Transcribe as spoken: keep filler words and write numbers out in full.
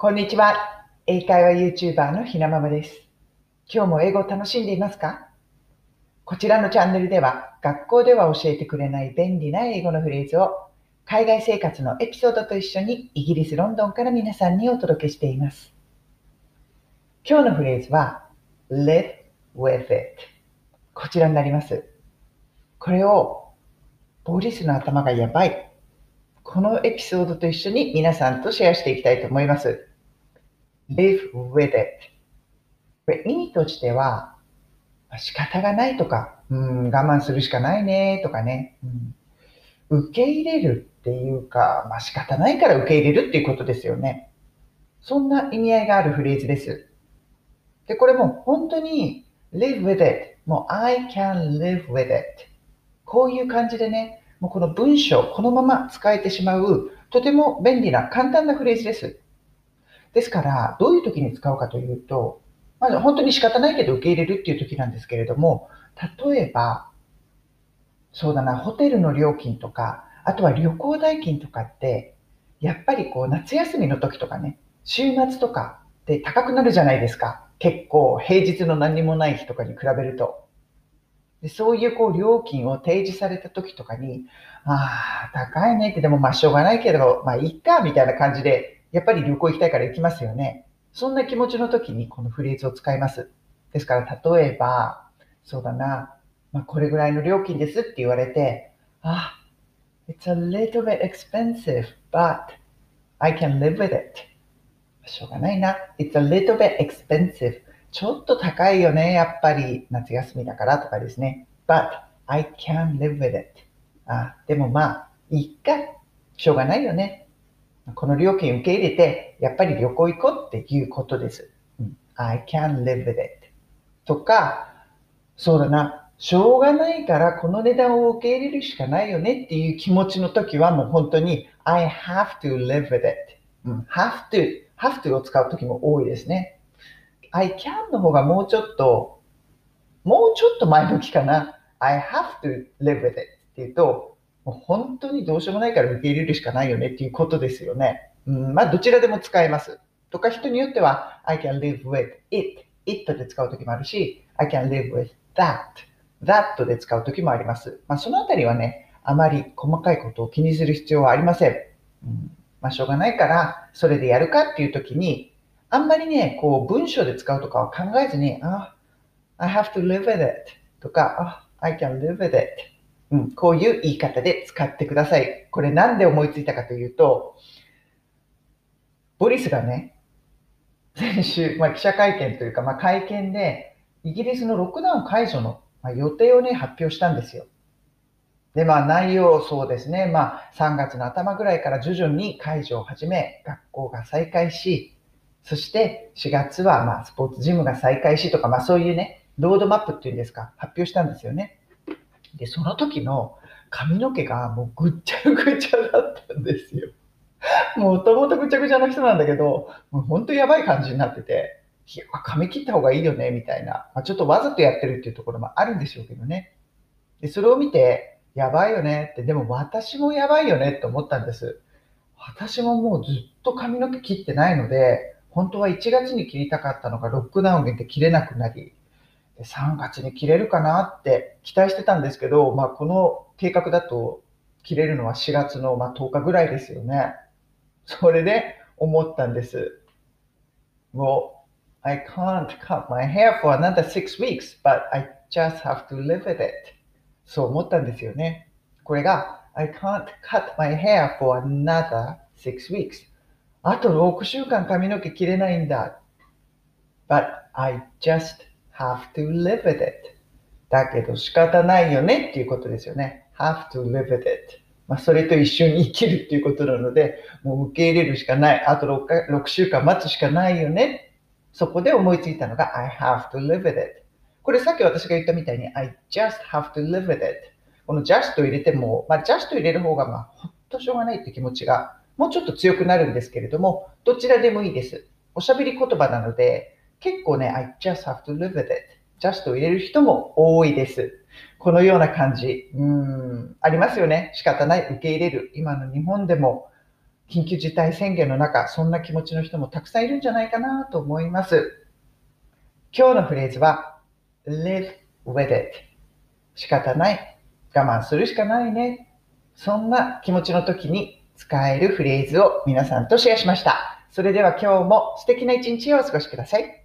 こんにちは。英会話 YouTuber のひなままです。今日も英語を楽しんでいますか？こちらのチャンネルでは、学校では教えてくれない便利な英語のフレーズを、海外生活のエピソードと一緒にイギリス・ロンドンから皆さんにお届けしています。今日のフレーズは live with it。こちらになります。これをボリスの頭がやばい。このエピソードと一緒に皆さんとシェアしていきたいと思います。live with it。これ意味としては、仕方がないとか、うん、我慢するしかないねとかね、うん、受け入れるっていうか、まあ、仕方ないから受け入れるっていうことですよね。そんな意味合いがあるフレーズです。で、これも本当に live with it。もう I can live with it。こういう感じでね、もうこの文章、このまま使えてしまう、とても便利な簡単なフレーズです。ですから、どういう時に使うかというと、まず本当に仕方ないけど受け入れるっていう時なんですけれども、例えば、そうだな、ホテルの料金とか、あとは旅行代金とかって、やっぱりこう夏休みの時とかね、週末とかって高くなるじゃないですか。結構平日の何にもない日とかに比べると。でそういうこう料金を提示された時とかに、ああ、高いねってでもまあしょうがないけど、まあいいかみたいな感じで、やっぱり旅行行きたいから行きますよね。そんな気持ちの時にこのフレーズを使います。ですから例えば、そうだな、まあこれぐらいの料金ですって言われて、あ、it's a little bit expensive, but I can live with it. しょうがないな。It's a little bit expensive. ちょっと高いよね、やっぱり夏休みだからとかですね。But I can live with it. あ、でもまあ、いいか。しょうがないよね。この料金受け入れて、やっぱり旅行行こうっていうことです。うん、I can live with it. とか、そうだな。しょうがないからこの値段を受け入れるしかないよねっていう気持ちの時はもう本当に I have to live with it。うん、have to, have to を使う時も多いですね。I can の方がもうちょっと、もうちょっと前向きかな。I have to live with it っていうと、もう本当にどうしようもないから受け入れるしかないよねっていうことですよね。うん、まあどちらでも使えます。とか人によっては I can live with it, it で使う時もあるし、I can live with that, that で使う時もあります。まあそのあたりはね、あまり細かいことを気にする必要はありません。うん、まあしょうがないから、それでやるかっていう時に、あんまりね、こう文章で使うとかは考えずに、あ、I have to live with it とか、あ、I can live with it、うん、こういう言い方で使ってください。これなんで思いついたかというと、ボリスがね、先週、まあ、記者会見というか、まあ、会見で、イギリスのロックダウン解除の、まあ、予定をね、発表したんですよ。で、まあ、内容、そうですね、まあ、さんがつの頭ぐらいから徐々に解除を始め、学校が再開し、そしてしがつは、まあ、スポーツジムが再開しとか、まあ、そういうね、ロードマップっていうんですか、発表したんですよね。で、その時の髪の毛がもうぐっちゃぐちゃだったんですよ。もともとぐちゃぐちゃな人なんだけど、もう本当やばい感じになってて、いや、髪切った方がいいよね、みたいな。まあ、ちょっとわざとやってるっていうところもあるんでしょうけどね。で、それを見て、やばいよねって、でも私もやばいよねって思ったんです。私ももうずっと髪の毛切ってないので、本当はいちがつに切りたかったのがロックダウンで切れなくなり、さんがつに切れるかなって期待してたんですけど、まあ、この計画だと切れるのはしがつのまあとおかぐらいですよね。それで思ったんです。Well, I can't cut my hair for another six weeks, but I just have to live with it. そう思ったんですよね。これが I can't cut my hair for another six weeks. あとろくしゅうかん髪の毛切れないんだ。But I just have to live with it. だけど仕方ないよねっていうことですよね。have to live with it。まあ、それと一緒に生きるっていうことなので、もう受け入れるしかない。あと 6, かろくしゅうかん待つしかないよね。そこで思いついたのが I have to live with it。これさっき私が言ったみたいに I just have to live with it。この just を入れても、まあ、just 入れる方がまあほっとしょうがないって気持ちがもうちょっと強くなるんですけれども、どちらでもいいです。おしゃべり言葉なので、結構ね、I just have to live with it。just を入れる人も多いです。このような感じ。うーん、ありますよね。仕方ない。受け入れる。今の日本でも緊急事態宣言の中、そんな気持ちの人もたくさんいるんじゃないかなと思います。今日のフレーズは live with it。 仕方ない、我慢するしかないね。そんな気持ちの時に使えるフレーズを皆さんとシェアしました。それでは今日も素敵な一日をお過ごしください。